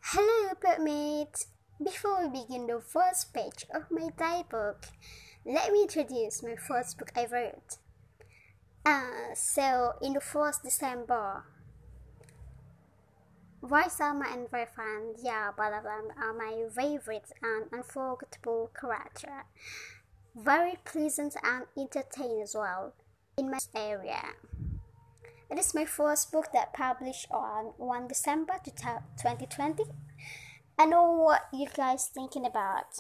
Hello, bookmates! Before we begin the first page of my book, let me introduce my first book I wrote. In the 1st December, Raisalma and Verfan, both of them are my favorite and unforgettable character. Very pleasant and entertaining as well in my area. It is my first book that published on 1 December 2020. I know what you guys thinking about.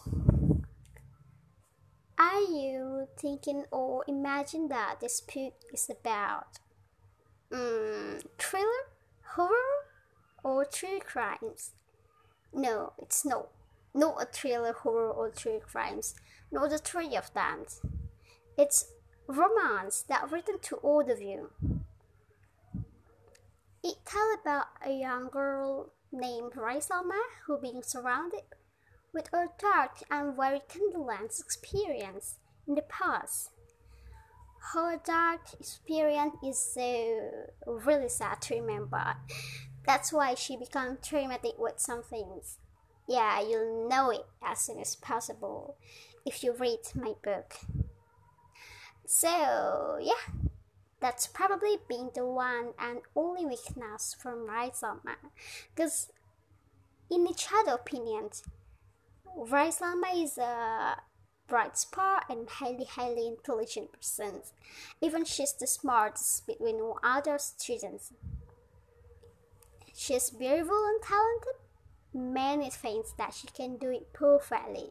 Are you thinking or imagine that this book is about thriller, horror, or true crimes? No, it's not a thriller, horror, or true crimes. Not the three of them. It's romance that written to all of you. It tells about a young girl named Raisalma who being surrounded with a dark and very turbulent experience in the past. Her dark experience is so really sad to remember. That's why she becomes traumatic with some things. Yeah, you'll know it as soon as possible if you read my book. So, yeah. That's probably been the one and only weakness from Raisalma. Because in each other opinions, Raisalma is a bright spot and highly intelligent person. Even she's the smartest between all other students. She's beautiful and talented. Many things that she can do it perfectly.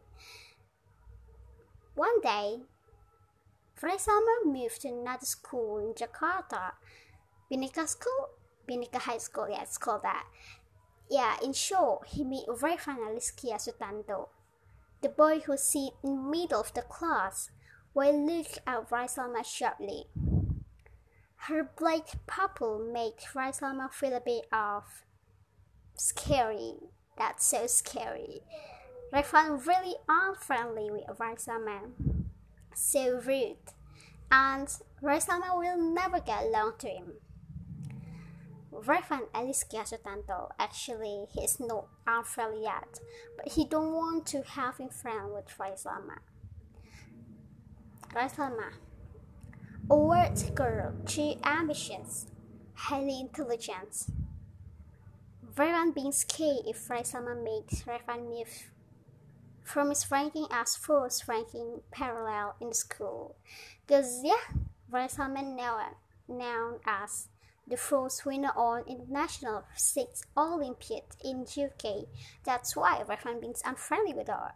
One day, Raisalma moved to another school in Jakarta. Bhinneka High School, yeah, it's called that. Yeah, in short, he met Verfan Aliskia Sutanto, the boy who sits in the middle of the class, while look at Raisalma sharply. Her black pupil makes Raisalma feel a bit of scary. That's so scary. Verfan really unfriendly with Raisalma. So rude, and Raisalma will never get along to him. Verfan Aliskia Sutanto, actually, he is not unfriendly yet, but he don't want to have him friend with Raisalma. Raisalma, a word girl, too ambitious, highly intelligent. Verfan being scared if Raisalma makes Verfan move from his ranking as first ranking parallel in the school. Because, Raisalma known as the first winner on International Physics Olympiad in UK. That's why Verfan being unfriendly with her.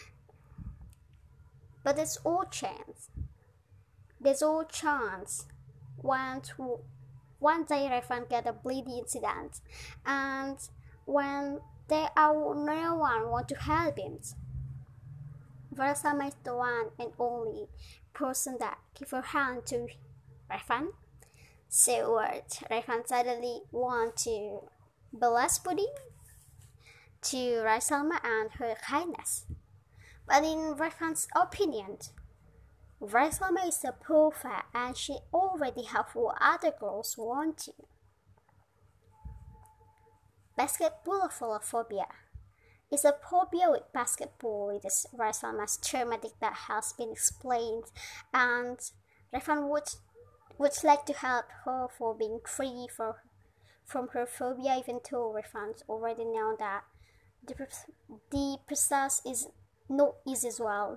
But there's all chance. One day Verfan get a bleeding incident, and when there are no one want to help him, Raisalma is the one and only person that give her hand to Verfan. So Verfan suddenly want to bless Budi to Raisalma and her kindness. But in Verfan's opinion, Raisalma is a perfect and she already have what other girls want to. Basketballophobia is a phobia with basketball. It is Raisalma's traumatic that has been explained, and Verfan would like to help her for being free from her phobia, even though Verfan's already know that the process is not easy as well.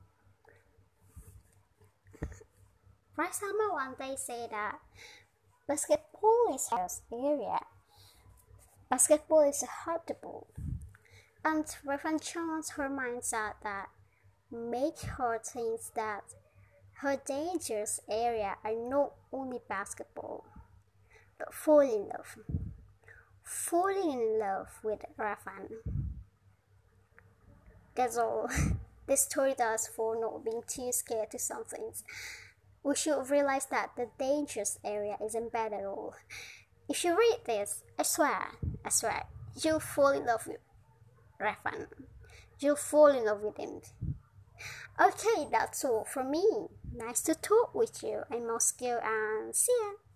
Raisalma one day said that basketball is her area. Basketball is hard to ball. And Verfan changed her mindset that make her think that her dangerous area are not only basketball, but falling in love with Verfan. That's all. This story does for not being too scared to some things. We should realize that the dangerous area isn't bad at all. If you read this, I swear, you'll fall in love with Verfan. You'll fall in love with him. Okay, that's all from me. Nice to talk with you. I'm Moscow and see ya.